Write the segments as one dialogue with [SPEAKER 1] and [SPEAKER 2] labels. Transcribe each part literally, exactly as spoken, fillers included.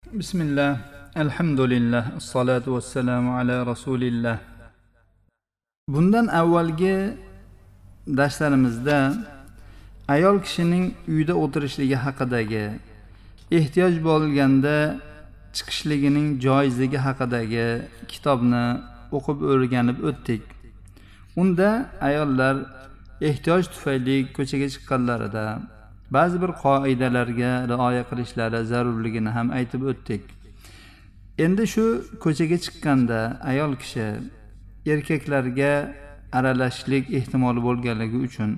[SPEAKER 1] Bismillah, alhamdulillah, assalatu vassalamu ala rasulillah. Bundan avvalgi darslarimizda ayol kishining uyda o'tirishligi haqidagi, ehtiyoj bo'lganda chiqishligining joizligi haqidagi kitobni o'qib o'rganib o'tdik. Unda ayollar ehtiyoj tufayli ko'chaga chiqqanlarida ba'zi bir qoidalarga rioya qilishlari zarurligini ham aytib o'tdik. Endi shu ko'chaga chiqqanda ayol kishi erkaklarga aralashishlik ehtimoli bo'lganligi uchun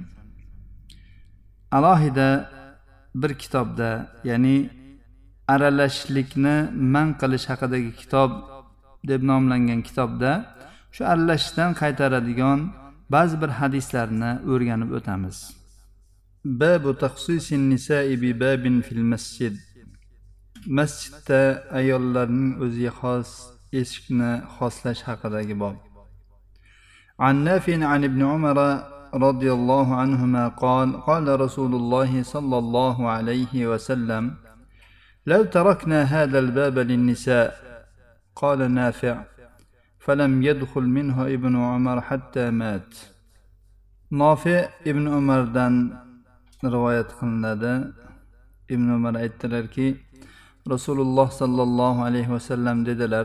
[SPEAKER 1] alohida bir kitobda, ya'ni aralashishlikni man qilish haqidagi kitob deb nomlangan kitobda shu aralashishdan qaytaradigan ba'zi bir hadislarni o'rganib o'tamiz. Babu taxsisin nisa'i bi babin fil masjid. Masjidda ayollarning o'ziga xos eshikni xoslash haqidagi bob. An Nafi' an ibn Umar radhiyallohu anhuma qala qala Rasululloh sallallohu alayhi va sallam law tarakna hadha al-bab lin-nisa' qala Nafi' falam yadkhul minhu ibn Umar hatta mat. Nafi' ibn Umardan rivoyat qilinadi. Ibn Umar aytdilarki, Rasululloh sallallohu alayhi va sallam dedilar: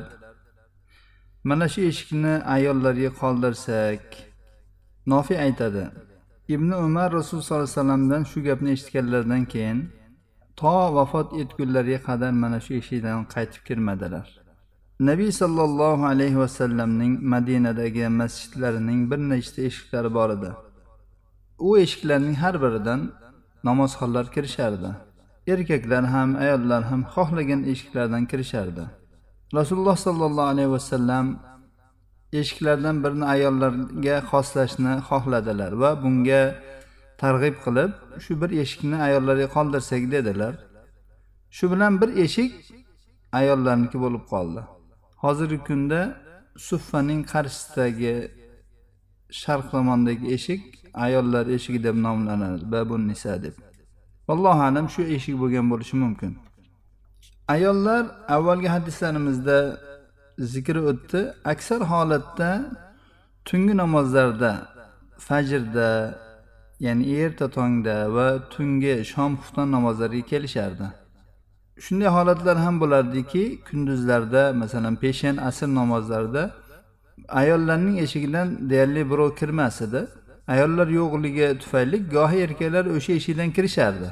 [SPEAKER 1] mana shu eshikni ayollarga qoldirsak. Nafi' aytadi: Ibn Umar Rasul sallallohu alayhi vasallamdan shu gapni eshitganlaridan keyin to vafot etgunlariga qadar mana shu eshikdan qaytib kirmadilar. Nabiy sallallohu alayhi va sallamning Madinadagi masjidlarining bir nechta eshiklari bor edi. U eshiklarning har biridan namozxonlar kirishardi. Erkaklar ham, ayollar ham xohlagan eshiklardan kirishardi. Rasululloh sallallohu alayhi va sallam eshiklardan birini ayollarga xoslashni xohladilar va bunga targ'ib qilib, shu bir eshikni ayollarga qoldirsak dedilar. Shu bilan bir eshik ayollarniki bo'lib qoldi. Hozirgi kunda Suffaning qarshisidagi sharq tomondagi eshik ayollar eshigi deb nomlanadi, babun nisa deb. Vallohu alam shu eshik bo'lgan bo'lishi mumkin. Ayollar avvalgi hadislarimizda zikr o'tdi. Aksar holatda tungi namozlarda, fajrda, ya'ni erta tongda va tungi shom xufton namozlariga kelishardi. Shunday holatlar ham bo'lardiki, kunduzlarda, masalan, peshin, asr namozlarida ayollarning eshigidan deyarli birov kirmas edi. Ayollar yo'qligi tufayli gohi erkaklar o'sha eshikdan kirishardi.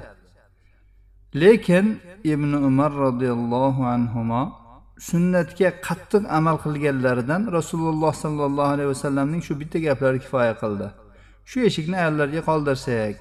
[SPEAKER 1] Lekin Ibn Umar radhiyallohu anhuma sunnatga qattiq amal qilganlaridan Rasululloh sallallohu alayhi vasallamning shu bitta gaplari kifoya qildi. Shu eshikni ayollarga qoldirsak,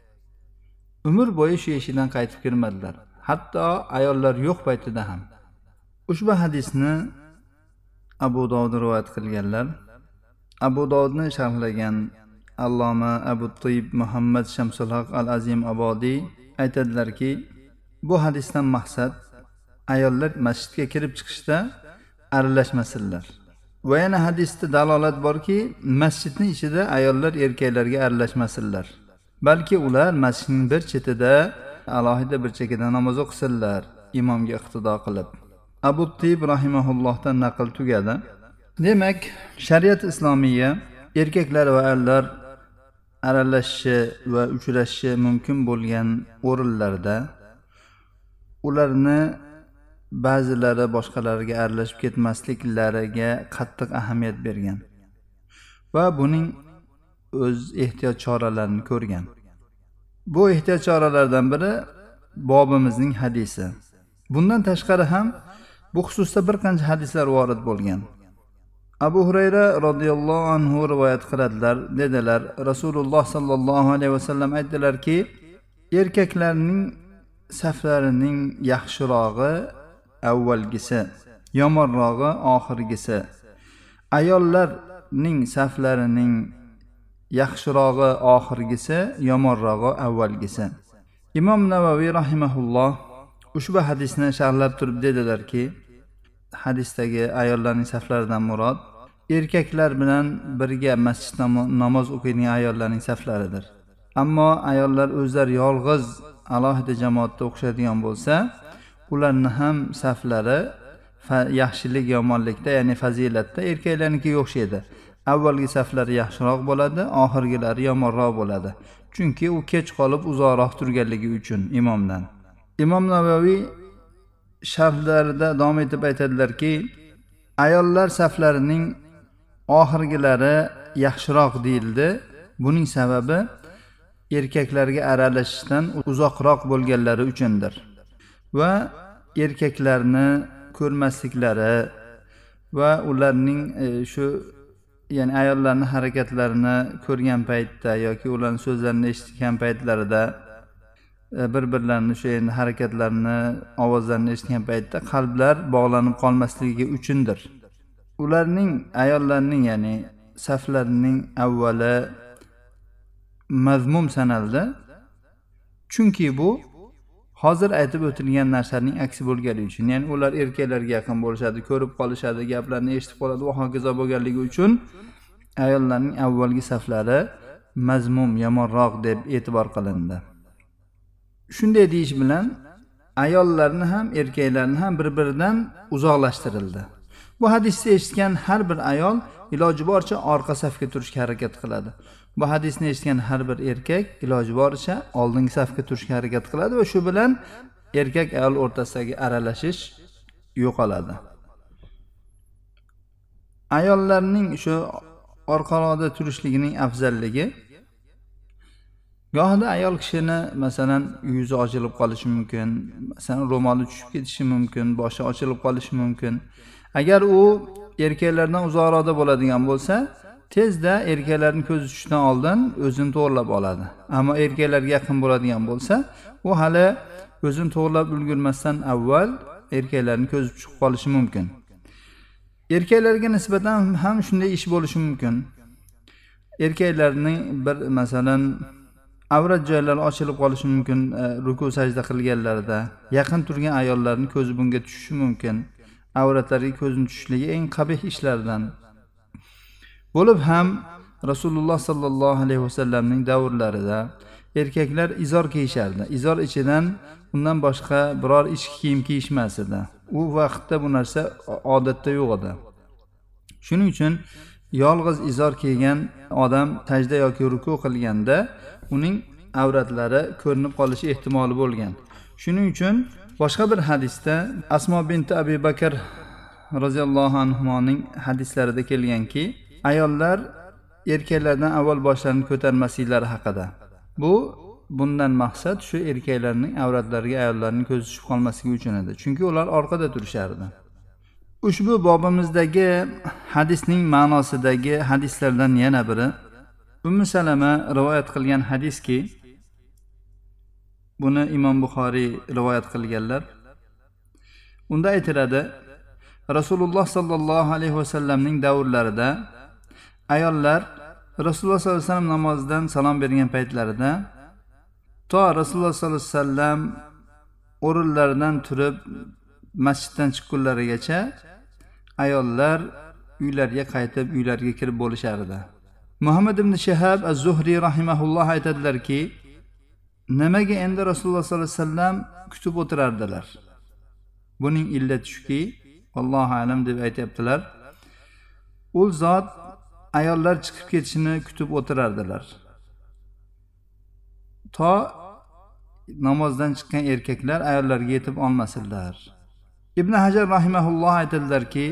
[SPEAKER 1] umr bo'yi shu eshikdan qaytib kirmadilar. Hatto ayollar yo'q paytida ham. Ushbu hadisni Abu Dovud rivoyat qilganlar. Abu Dovudni sharhlagan Alloma Abu Tayyib Muhammad Shamsul Haq al-Azim Abodiy aytadilarki, bu hadisdan maqsad ayollar masjidga kirib chiqishda aralashmasinlar. Va yana hadisda dalolat borki, masjidning ichida ayollar erkaklarga aralashmasinlar. Balki ular masjidning bir chetida alohida bir chekada namoz o'qisinlar, imomga iqtido qilib. Abu Tayyib rahimahullohdan naql tugadi. Demak, shariat islomiya erkaklar va ayollar aralashishi va uchrashishi mumkin bo'lgan o'rinlarda ularni ba'zilari boshqalariga aralashib ketmasliklariga qattiq ahamiyat bergan va buning o'z ehtiyot choralarini ko'rgan. Bu ehtiyot choralaridan biri bobimizning hadisi. Bundan tashqari ham bu xususda bir qancha hadislar vorid bo'lgan. Abu Hurayra radhiyallohu anhu rivoyat qiladilar, dedilar, Rasululloh sallallohu alayhi vasallam aytdilarki, erkaklarning saflarining yaxshirog'i avvalgisi, yomonrog'i oxirgisi. Ayollarning saflarining yaxshirog'i oxirgisi, yomonrog'i avvalgisi. Imom Navaviy rahimahulloh ushbu hadisni sharhlab turib dedilarki, hadisdagi ayollarning saflaridan murod erkaklar bilan birga masjidda namoz o'qiydigan ayollarning saflaridir. Ammo ayollar o'zlari yolg'iz alohida jamoatda o'qishadigan bo'lsa, ularni ham saflari yaxshilik yomonlikda, ya'ni fazilatda erkaklarnikiga o'xshaydi. Avvalgi saflari yaxshiroq bo'ladi, oxirgilari yomonroq bo'ladi. Chunki u kech qolib uzoqroq turganligi uchun imomdan. Imom Navaviy sharhlarida davom etib aytadilarki, ayollar saflarining oxirgilari yaxshiroq deyildi. Buning sababi erkaklarga aralashishdan uzoqroq bo'lganlari uchundir. Va erkaklarni ko'rmasliklari va ularning shu ya'ni ayollarning harakatlarini ko'rgan paytda yoki ularning so'zlarini eshitgan paytlarida bir-birlarini shu endi harakatlarini, ovozlarini eshitgan paytda qalblar bog'lanib qolmasligi uchundir. Ularning ayollarning ya'ni saflarining avvali mazmum sanaldi. Chunki bu hozir aytib o'tilgan narsaning aksi bo'lgani uchun, ya'ni ular erkaklarga yaqin bo'lishadi, ko'rib qolishadi, gaplarni eshitib qoladi va hokazo bo'lganligi uchun ayollarning avvalgi saflari mazmum, yomonroq deb e'tibor qilindi. Shunday deyish bilan ayollarni ham erkaklarni ham bir-biridan uzoqlashtirildi. Bu hadisni eshitgan har bir ayol iloji boricha orqa safga turishga harakat qiladi. Bu hadisni eshitgan har bir erkak iloji boricha oldingi safga turishga harakat qiladi va shu bilan erkak ayol o'rtasidagi aralashish yo'qoladi. Ayollarning shu orqaroqda turishligining afzalligi, gohida ayol kishini masalan yuzi ochilib qolishi mumkin, masalan ro'moli tushib ketishi mumkin, boshi ochilib qolishi mumkin. Agar u erkaklardan uzoqroqda bo'ladigan bo'lsa, tezda erkaklarning ko'zi tushishdan oldin o'zini to'g'rilab oladi. Ammo erkaklarga yaqin bo'ladigan bo'lsa, u hali o'zini to'g'rilab ulgurmasdan avval erkaklarning ko'zi tushib qolishi mumkin. Erkaklarga nisbatan ham shunday ish bo'lishi mumkin. Erkaklarning bir masalan avrat joylari ochilib qolishi mumkin, ruku sajda qilganlarida. Yaqin turgan ayollarning ko'zi bunga tushishi mumkin. Avratlariga ko'zning tushishligi eng qabih ishlardan bo'lib ham Rasululloh sallallohu alayhi vasallamning davrlarida erkaklar izor kiyishardi. Izor ichidan undan boshqa biror ichki kiyim kiyishmas edi. U vaqtda bu narsa odatda yo'q edi. Shuning uchun yolg'iz izor kiygan odam sajda yoki ruku qilganda uning avratlari ko'rinib qolishi ehtimoli bo'lgan. Shuning uchun boshqa bir hadisda Asmo binti Abi Bakr roziyallohu anhuning hadislarida kelganki, ayollar erkaklardan avval boshlarini ko'tarmasliklari haqida. Bu bundan maqsad shu erkaklarning avratlariga ayollarning ko'zi tushib qolmasligi uchun edi. Chunki ular orqada turishardi. Ushbu bobimizdagi hadisning ma'nosidagi hadislardan yana biri Ummu Salama rivoyat qilgan hadiski, buni Imom Buxoriy rivoyat qilganlar. Unda aytiladi, Rasululloh sallallohu alayhi vasallamning davrlarida ayollar Rasululloh sallallohu alayhi vasallam namozidan salom bergan paytlarida to Rasululloh sallallohu alayhi vasallam o'rinlaridan turib masjiddan chiqqunlarigacha ayollar uylariga qaytib, uylariga kirib bo'lishardi. Muhammad ibn Shihab az-Zuhri rahimahulloh aytadilarki, nimaga endi Rasululloh sallallohu alayhi vasallam kutib o'tirardilar? Buning illati shuki, Allohu alam deb aytibdilar. U zot ayollar chiqib ketishini kutib o'tirardilar. To namozdan chiqqan erkaklar ayollarga yetib olmasinlar. Ibn Hajar rahimahulloh aytadilarki,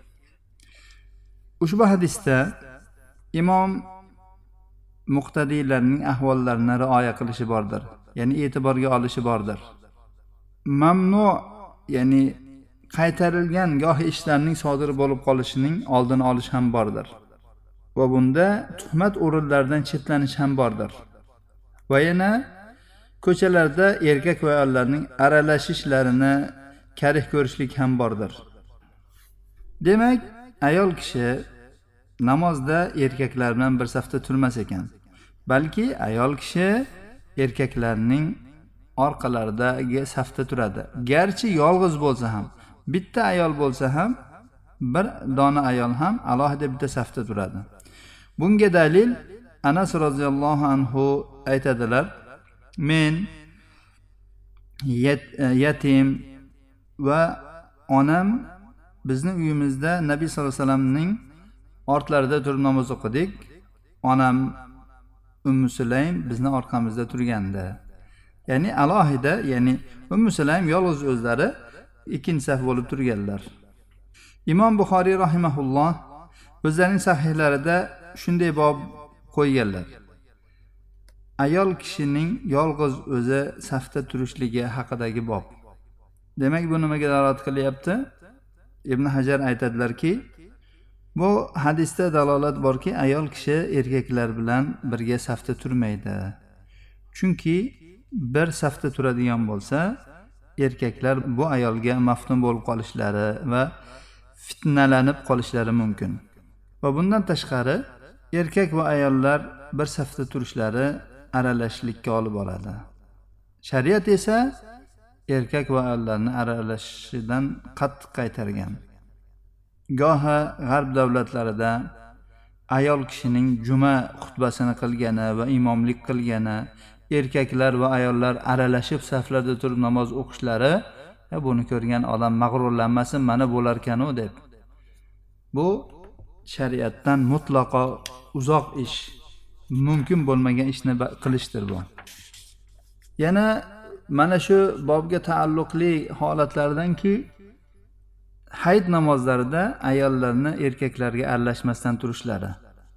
[SPEAKER 1] ushbu hadisda imom muqtadiylarning ahvollarini rioya qilishi bordir. Ya'ni e'tiborga olishi bordir. Mamnu, ya'ni qaytarilgan gohi ishlarning sodir bo'lib qolishining oldini olish ham bordir. Va bunda tuhmat o'rinlaridan chetlanish ham bordir. Va yana ko'chalarda erkak va ayollarning aralashishlarini karih ko'rishlik ham bordir. Demak, ayol kishi namozda erkaklar bilan bir safda turmas ekan. Balki ayol kishi erkaklarning orqalaridagi safda turadi. Garchi yolg'iz bo'lsa ham, bitta ayol bo'lsa ham, bir dona ayol ham alohida bitta safda turadi. Bunga dalil Anas roziyallohu anhu aytadilar, men yet, yetim va onam bizni uyimizda Nabiy sallallohu alayhi vasallamning ortlarida turib namoz o'qidik. Onam Ummu Sulaym bizni orqamizda turganda. Ya'ni alohida, ya'ni Ummu Sulaym yolg'iz o'zlari ikkinchi saf bo'lib turganlar. Imom Buxoriy rahimahulloh o'zlarining sahihlarida shunday bob qo'yganlar. Ayol kishining yolg'iz o'zi safda turishligi haqidagi bob. Demak, bu nimaga dalolat qilyapti? Ibn Hajar aytadilarki, bu hadisda dalolat borki, ayol kishi erkaklar bilan birga safda turmaydi. Chunki bir safda turadigan bo'lsa, erkaklar bu ayolga maftun bo'lib qolishlari va fitnalanib qolishlari mumkin. Va bundan tashqari, erkak va ayollar bir safda turishlari aralashishlikka olib boradi. Shariat esa erkak va ayollarni aralashishidan qattiq qaytargan. Goha g'arb davlatlarida ayol kishining juma xutbasini qilgani va imomlik qilgani, erkaklar va ayollar aralashib saflarda turib namoz o'qishlari, buni ko'rgan odam mag'rurlanmasin, mana bo'larkan-u deb. Bu shariatdan mutlaqo uzoq ish, mumkin bo'lmagan ishni qilishdir bu. Yana mana shu bobga taalluqli holatlardanki, hayit namozlarida ayollarni erkaklarga aralashmasdan turishlari.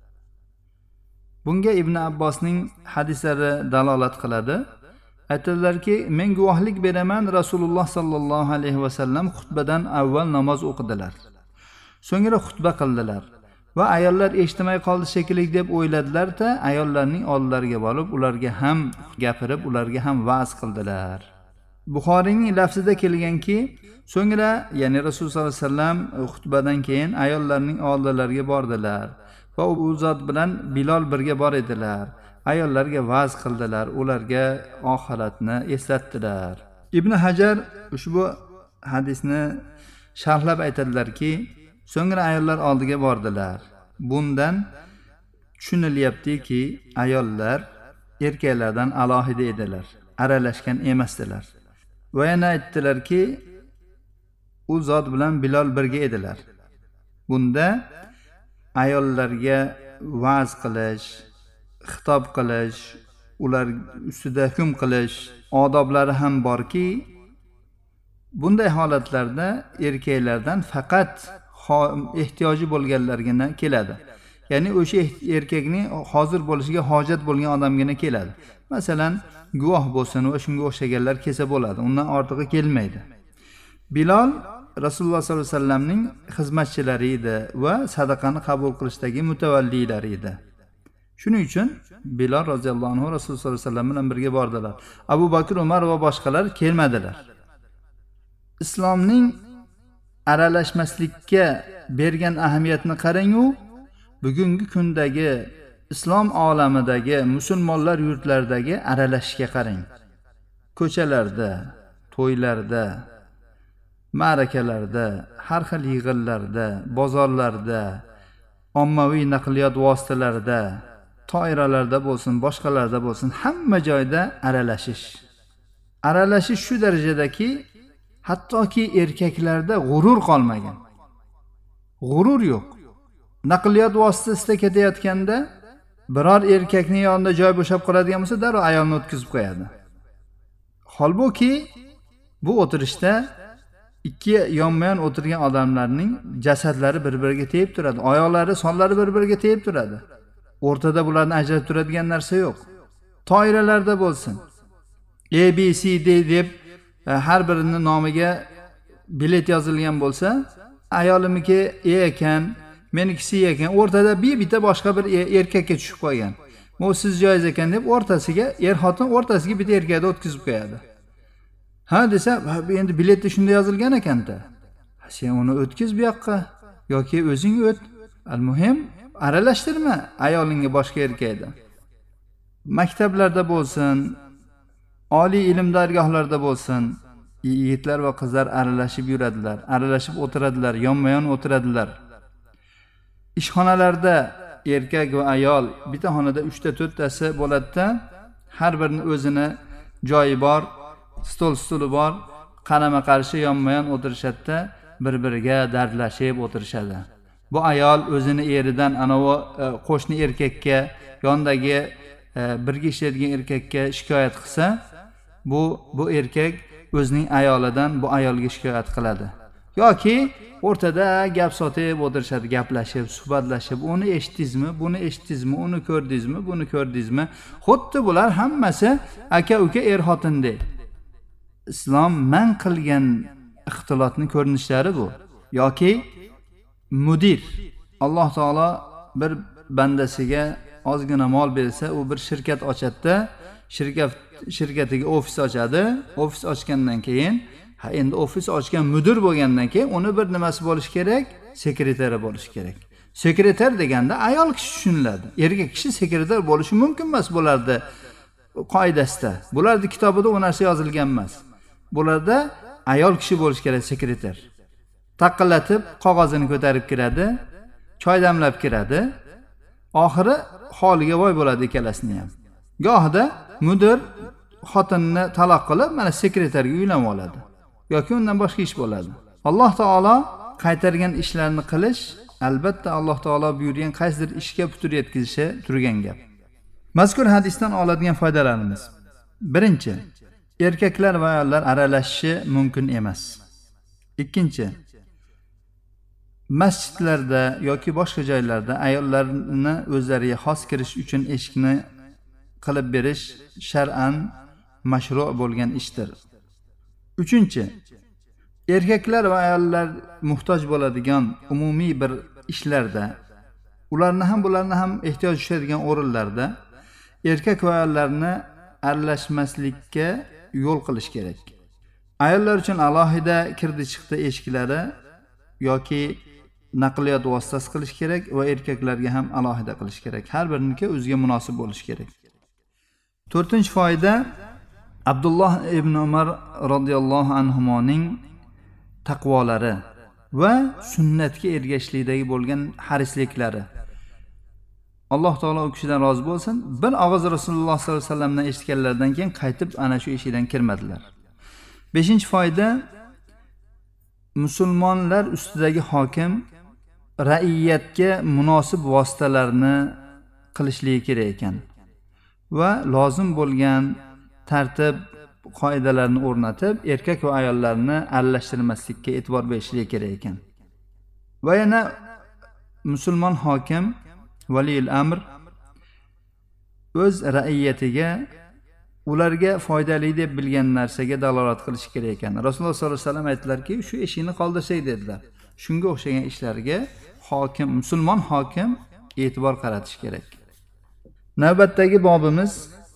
[SPEAKER 1] Bunga Ibn Abbosning hadislari dalolat qiladi. Aytadilarki, men guvohlik beraman, Rasululloh sallallohu alayhi vasallam xutbadan avval namoz o'qidilar. So'ngra xutba qildilar va ayollar eshitmay qoldi shekilli deb o'yladilar-da, ayollarning oldilariga borib, ularga ham gapirib, ularga ham va'z qildilar. Buxoriyning lafzida kelganki, so'ngra, ya'ni Rasululloh sollallohu alayhi vasallam xutbadan keyin ayollarning oldilariga bordilar va u zot bilan Bilol birga bor edilar. Ayollarga va'z qildilar, ularga oxiratni eslatdilar. Ibn Hajar ushbu hadisni sharhlab aytadilarki, so'ngra ayollar oldiga bordilar. Bundan tushunilyaptiki, ayollar erkaklardan alohida edilar, aralashgan emasdilar. Va yana aytdilarki, u zot bilan Bilol birga edilar. Bunda ayollarga va'z qilish, xitob qilish, ular ustida hukm qilish odoblari ham borki, bunday holatlarda erkaklardan faqat ehtiyoji bo'lganlargina keladi. Ya'ni o'sha erkakning hozir bo'lishiga hojat bo'lgan odamgina keladi. Masalan, guvoh bo'lsin va shunga o'xshaganlar kelsa bo'ladi. Undan ortig'i kelmaydi. Bilol Rasululloh sollallohu alayhi vasallamning xizmatchilari edi va sadaqani qabul qilishdagi mutavallilari edi. Shuning uchun Bilol roziyallohu anhu Rasululloh sollallohu alayhi vasallam bilan birga bordilar. Abu Bakr, Umar va boshqalar kelmadilar. Islomning aralashmaslikka bergan ahamiyatni qarang-u, bugungi kundagi islom olamidagi musulmonlar yurtlaridagi aralashishga qarang. Ko'chalarda, to'ylarda, ma'rakalarda, har xil yig'inlarda, bozorlarda, ommaviy naqliyot vositalarida, toiralarda bo'lsin, boshqalarda bo'lsin, hamma joyda aralashish. Aralashish shu darajadaki, hattoki erkaklarda g'urur qolmagan. G'urur yo'q. Naqliyot vositasida ketayotganda biror erkakning yonida joy bo'shab qoladigan bo'lsa, darrov ayolni o'tkazib qo'yadi. Holbuki bu o'tirishda ikki yonma-yon o'tirgan odamlarning jasadlari bir-biriga tegib turadi, oyoqlari, sonlari bir-biriga tegib turadi. O'rtada bularni ajratib turadigan narsa yo'q. Toiralarda bo'lsin, A B C D deb har birining nomiga bilet yozilgan bo'lsa, ayolimniki E ekan, menikisi E ekan, o'rtada bir bitta boshqa bir erkakka tushib qolgan. "Bu siz joyiz ekan" deb o'rtasiga, er-xotin o'rtasiga bitta erkakni o'tkazib qo'yadi. Ha desa, endi biletda shunda yozilgan ekan-da. Sen uni o'tkiz bu yoqqa yoki o'zing o't. Al-muhim, aralashtirma ayolingga boshqa erkakdan. Maktablarda bo'lsin, oliy ilm dargohlarida bo'lsin, yigitlar va qizlar aralashib yuradilar, aralashib o'tiradilar, yonma-yon o'tiradilar. Ishxonalarda erkak va ayol bitta xonada uchta to'rttasi bo'ladi-da, har birining o'zini joyi bor, stol stuli bor, qarama qarshi yonma yon o'tirishadida bir biriga dardlashib o'tirishadi. Bu ayol o'zini eridan anavi qo'shni erkakka, yondagi birga ishlaydigan erkakka shikoyat qilsa, bu bu erkak o'zining ayolidan bu ayolga shikoyat qiladi. Yoki o'rtada gap sotib o'tirishadi, gaplashib, suhbatlashib, uni eshitdingizmi, buni eshitdingizmi, uni ko'rdingizmi, buni ko'rdingizmi? Xuddi bular hammasi aka-uka er-xotindek. Islom man qilgan ixtilotni ko'rinishlari bu. Yoki mudir, Alloh taolo bir bandasiga ozgina mol bersa, u bir shirkat ochadi, shirkat shirkatiga ofis ochadi. Ofis ochgandan keyin, ha endi ofis ochgan mudir bo'lgandan keyin uni bir nimasi bo'lish kerak, sekretari bo'lish kerak. Sekretar deganda ayol kishi tushuniladi. Erkak kishi sekretar bo'lishi mumkin emas bularda qoidasida. Bularning kitobida u narsa yozilgan emas. Bularda ayol kishi bo'lish kerak sekretar. Taqillatib qog'ozini ko'tarib kiradi, choy damlab kiradi. Oxiri holiga voy bo'ladi ikkalasini ham. Gohida mudir xotinni taloq qilib, mana sekretarga uylanib oladi. Yoki undan boshqa ish bo'ladi. Alloh taolo qaytargan ishlarni qilish, albatta Alloh taolo buyurgan qaysidir ishga putur yetkazishi turgan gap. Mazkur hadisdan oladigan foydalarimiz. Birinchi, erkaklar va ayollar aralashishi mumkin emas. Ikkinchi, masjidlarda yoki boshqa joylarda ayollarni o'zlariga xos kirish uchun eshikni qilib berish shar'an mashru' bo'lgan ishdir. Uchinchi, erkaklar va ayollar muhtoj bo'ladigan umumiy bir ishlarda, ularni ham bularni ham ehtiyoj tushadigan o'rinlarda erkak va ayollarni aralashmaslikka yo'l qilish kerak. Ayollar uchun alohida kirdi-chiqdi eshiklari yoki naqliyot vositasi qilish kerak va erkaklarga ham alohida qilish kerak. Har biriniki o'ziga munosib bo'lish kerak. To'rtinchi foyda, Abdulloh ibn Umar radhiyallohu anhumoning taqvolari va sunnatga ergashishlikdagi bo'lgan harisliklari. Alloh taolo u kishidan rozi bo'lsin. Bir og'iz Rasululloh sollallohu alayhi vasallamdan eshitganlaridan keyin qaytib ana shu eshikdan kirmadilar. Beshinchi foyda, musulmonlar ustidagi hokim ra'iyatga munosib vositalarni qilishligi kerak ekan va lozim bo'lgan tartib qoidalarni o'rnatib, erkak va ayollarni aralashtirmaslikka e'tibor berishligi kerak ekan. Va yana musulmon hokim, valiyul amr o'z ra'iyatiga ularga foydali deb bilgan narsaga dalolat qilish kerak ekan. Rasululloh sollallohu alayhi vasallam aytdilarki, shu ishini qoldirsak dedilar. Shunga o'xshagan ishlarga hokim, musulmon hokim e'tibor qaratish kerak. Navbatdagi bobimiz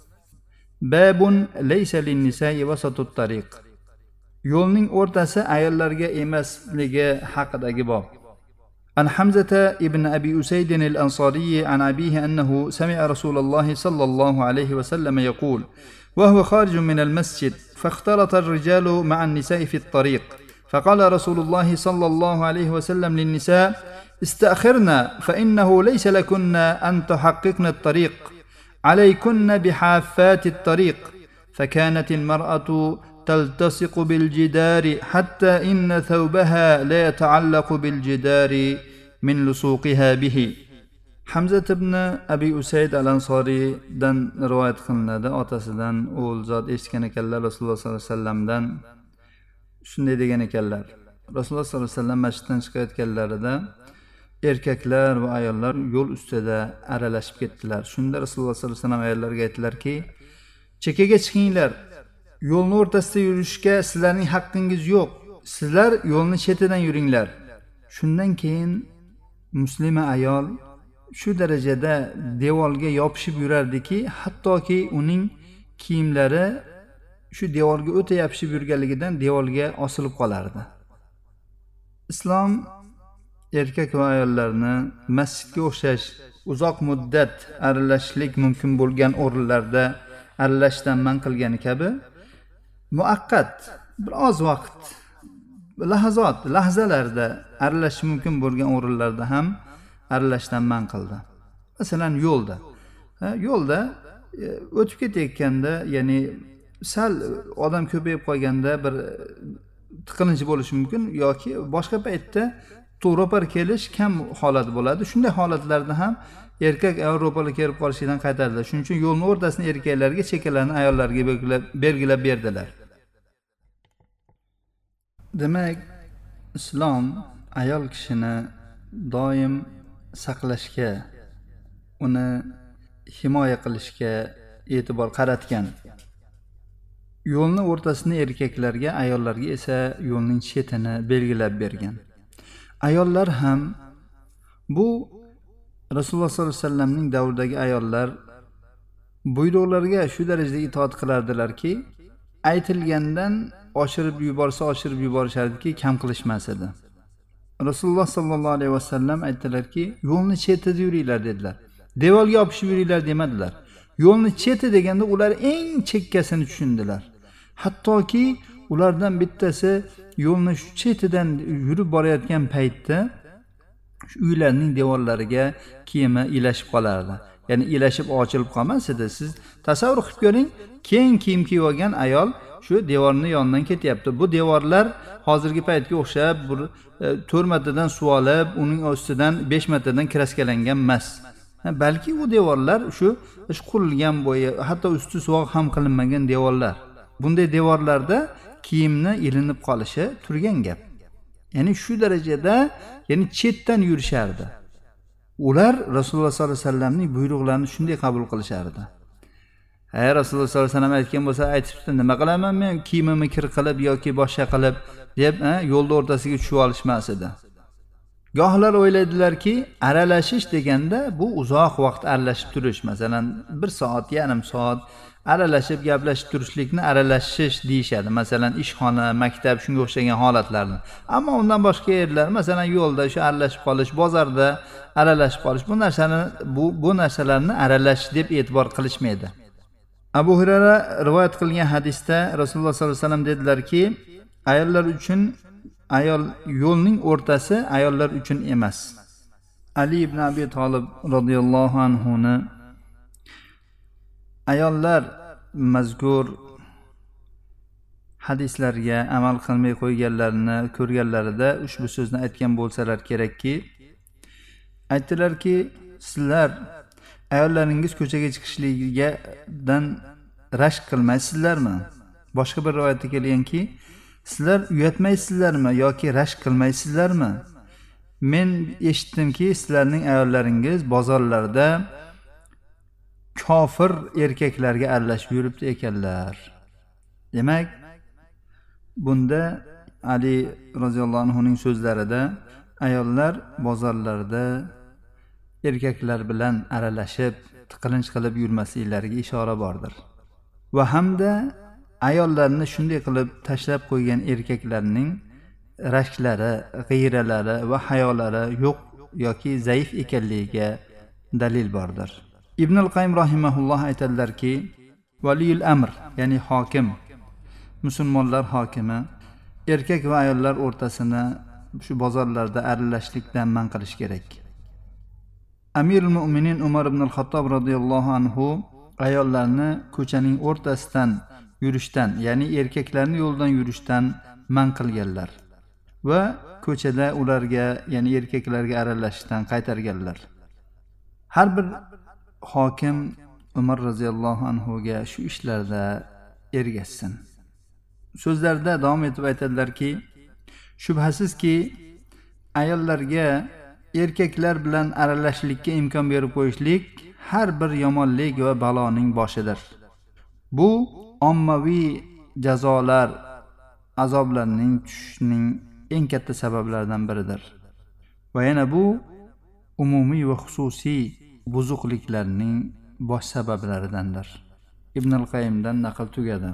[SPEAKER 1] babun laysa lin-nisa'i wasatut tariq. Yo'lning o'rtasi ayollarga emasligi haqidagi bob. An Hamzata ibn Abi Usayd al-Ansari an abihi annahu sami'a Rasululloh sallallohu alayhi wa sallam yaqul وهو خارج من المسجد فاختلط الرجال مع النساء في الطريق فقال رسول الله صلى الله عليه وسلم للنساء استأخرنا فإنه ليس لكن أن تحققن الطريق عليكن بحافات الطريق فكانت المرأة تلتصق بالجدار حتى إن ثوبها لا يتعلق بالجدار من لصوقها به. Hamza ibn Abi Usayd al-Ansoridan rivoyat qilinadi, otasidan o'g'il zot eshitgan ekanlar Rasululloh sollallohu alayhi vasallamdan. Shunday degan ekanlar. Rasululloh sollallohu alayhi vasallam masjiddan chiqayotganlarida erkaklar va ayollar yo'l ustida aralashib ketdilar. Shunda Rasululloh sollallohu alayhi vasallam ayollarga aytdilarki, chekkaga chiqinglar. Yo'lning o'rtasida yurishga sizlarning haqqingiz yo'q. Sizlar yo'lning chetidan yuringlar. Shundan keyin muslima ayol shu darajada devorga yopishib yurardiki, hattoki uning kiyimlari shu devorga o'ta yopishib yurganligidan devorga osilib qolardi. Islom erkak va ayollarni masjidga o'xshash uzoq muddat aralashishlik mumkin bo'lgan o'rinlarda aralashishdan man qilgani kabi, muaqqat biroz vaqt, lahazot, lahzalarda aralashish mumkin bo'lgan o'rinlarda ham aralashishdan man qildi. Masalan, yo'lda. Yo'lda o'tib ketayotganda, ya'ni sal odam ko'payib qolganda bir tiqilinch bo'lishi mumkin yoki boshqa paytda to'g'ri kelish kam holat bo'ladi. Shunday holatlarda ham erkak ayol ro'para kelib qolishidan qaytardilar. Shuning uchun yo'lning o'rtasini erkaklarga, chekkalarni ayollarga belgilab, belgilab berdilar. Demak, islom ayol kishini doim saqlashga, uni himoya qilishga e'tibor qaratgan. Yo'lning o'rtasini erkaklarga, ayollarga esa yo'lning chetini belgilab bergan. Ayollar ham bu Rasululloh sollallohu alayhi vasallamning davridagi ayollar buyruqlarga shu darajada itoat qilardilarki, aytilgandan oshirib yuborsa oshirib yuborishardiki, kam qilishmas edi. Rasululloh sollallohu alayhi vasallam aytdilarki, yo'lni chetida yuringlar dedilar. Devorga yopishib yuringlar demadilar. Yo'lni cheti deganda ular eng chekkasini tushundilar. Hattoki ulardan bittasi yo'lni shu chetidan yurib borayotgan paytda shu uylarning devorlariga kiyimi ilashib qolardi. Ya'ni ilashib ochilib qolmas edi. Siz tasavvur qilib ko'ring, keng kiyim kiyib olgan ayol shu devorning yonidan ketyapti. Bu devorlar hozirgi paytga o'xshab bir to'rt martadan suv olib, uning ostidan besh martadan kraskalangan emas. Balki u devorlar shu qurilgan bo'yi, hatto usti suvoq ham qilinmagan devorlar. Bunday devorlarda kiyimni ilinib qolishi turgan gap. Ya'ni shu darajada, ya'ni chetdan yurishardi. Ular Rasululloh sollallohu alayhi vasallamning buyruqlarini shunday qabul qilishardi. Hay Rasululloh sollallohu alayhi vasallam aytgan bo'lsa, aytibdi, nima qilaman men kiyimimni kir qilib yoki boshqa qilib deb yo'lda o'rtasiga tushib olishmas edi. Gohlar o'ylaydilarki, aralashish deganda bu uzoq vaqt aralashib turish, masalan, bir soat, yarim soat aralashib gaplashib turishlikni aralashish deyishadi. Masalan, ishxona, maktab shunga o'xshagan holatlarni. Ammo undan boshqa yerlar, masalan, yo'lda shu aralashib qolish, bozorda aralashib qolish, bu narsani bu bu narsalarni aralash deb e'tibor qilishmaydi. Abu Hurayra rivoyat qilgan hadisda Rasululloh sollallohu alayhi vasallam dedilarki, ayollar uchun ayol yo'lning o'rtasi ayollar uchun emas. Ali ibn Abi Talib radhiyallohu anhu ni ayollar mazkur hadislarga amal qilmay qo'yganlarini ko'rganlarida ushbu so'zni aytgan bo'lsalar kerakki, aytdilarki, sizlar ayollaringiz ko'chaga chiqishligidan rashk qilmaysizlarmi? Boshqa bir rivoyatda kelganki, sizlar uyatmaysizlarmi yoki rashk qilmaysizlarmi? Men eshitdimki, sizlarning ayollaringiz bozorlarda kofir erkaklarga aralashib yuribdi ekanlar. Demak, bunda Ali roziyallohu anhu ning so'zlarida ayollar bozorlarda erkaklar bilan aralashib, tiqilinch qilib yurmasliklariga ishora bordir. Va hamda ayollarni shunday qilib tashlab qo'ygan erkaklarning rashklari, g'ayralari va hayolari yo'q yoki zaif ekanligiga dalil bordir. Ibn al-Qayyim rahimahulloh aytadilarki, valiyul amr, ya'ni hokim, musulmonlar hokimi erkak va ayollar o'rtasini shu bozorlarda aralashishlikdan man qilish kerak. Amirul Mu'minin Umar ibn al-Xattob radhiyallohu anhu ayollarni ko'chaning o'rtasidan yurishdan, ya'ni erkaklarning yo'ldan yurishdan man qilganlar va ko'chada ularga, ya'ni erkaklarga aralashishdan qaytarganlar. Har bir hokim Umar roziyallohu anhu ga shu ishlarda ergashsin. So'zlarda davom etib aytadilarki, shubhasizki ayollarga erkaklar bilan aralashishlikka imkon berib qo'yishlik har bir yomonlik va baloning boshidir. Bu ommaviy jazolar, azoblarning tushishining eng katta sabablaridan biridir. Va yana bu umumiy va xususiy buzuqliklarning bosh sabablaridandir. Ibn al-Qayyimdan naql tugadi.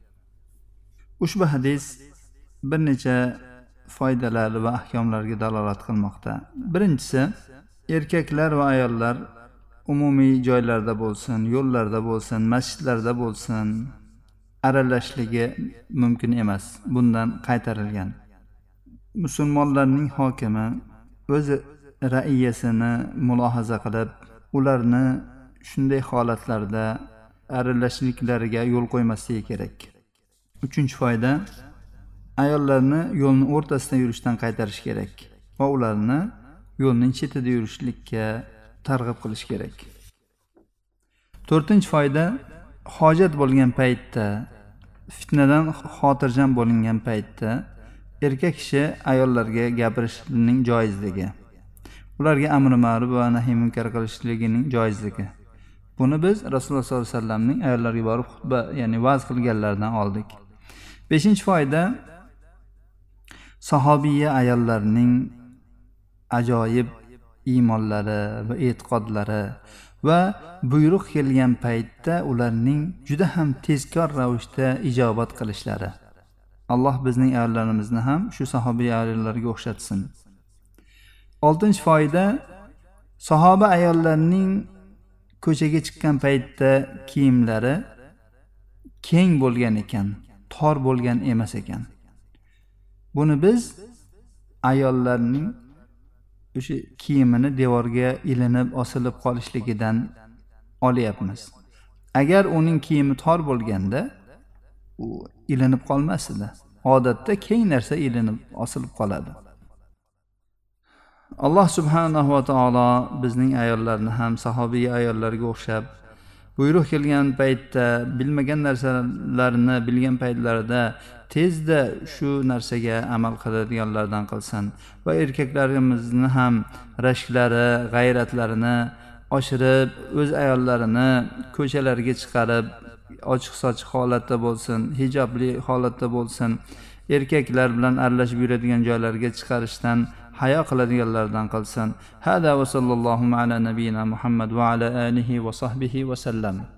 [SPEAKER 1] Ushbu hadis bir necha foydalar va ahkomlarga dalolat qilmoqda. Birinchisi, erkaklar va ayollar umumiy joylarda bo'lsin, yo'llarda bo'lsin, masjidlarda bo'lsin, aralashishligi mumkin emas. Bundan qaytarilgan. Musulmonlarning hokimi o'z raiyasini mulohaza qilib, ularni shunday holatlarda aralashishliklariga yo'l qo'ymasligi kerak. Uchinchi foyda, ayollarni yo'lning o'rtasida yurishdan qaytarish kerak va ularni yo'lning chetida yurishlikka targ'ib qilish kerak. To'rtinchi foyda, hojat bo'lgan paytda, fitnadan xotirjam bo'lingan paytda erkak kishi ayollarga gapirishining joizligi, ularga amri ma'ruf va nahiy munkar qilishligining joizligi. Buni biz Rasululloh sollallohu alayhi vasallamning ayollarga borib xutba, ya'ni va'z qilganlaridan oldik. Beshinchi foyda, sahobiya ayollarning ajoyib iymonlari va e'tiqodlari va buyruq kelgan paytda ularning juda ham tezkor ravishda ijobat qilishlari. Alloh bizning ayollarimizni ham shu sahobiy ayollarga o'xshatsin. Oltinchi foyda, sahoba ayollarning ko'chaga chiqqan paytda kiyimlari keng bo'lgan ekan, tor bo'lgan emas ekan. Buni biz ayollarning o'sha kiyimini devorga ilinib, osilib qolishligidan olyapmiz. Agar uning kiyimi tor bo'lganda, u ilinib qolmas edi. Odatda keng narsa ilinib, osilib qoladi. Alloh subhanahu va taolo bizning ayollarni ham sahobiy ayollarga o'xshab, buyruq kelgan paytda bilmagan narsalarni bilgan paytlarida tezda shu narsaga amal qiladiganlardan qilsin va erkaklarimizni ham rashklari, g'ayratlarini oshirib, o'z ayollarini ko'chalarga chiqarib, ochiq-sochiq holatda bo'lsin, hijobli holatda bo'lsin, erkaklar bilan aralashib yuradigan joylarga chiqarishdan hayo qiladiganlardan qilsin. Hada va sallallohu ala nabiyina Muhammad va ala alihi va sahbihi va sallam.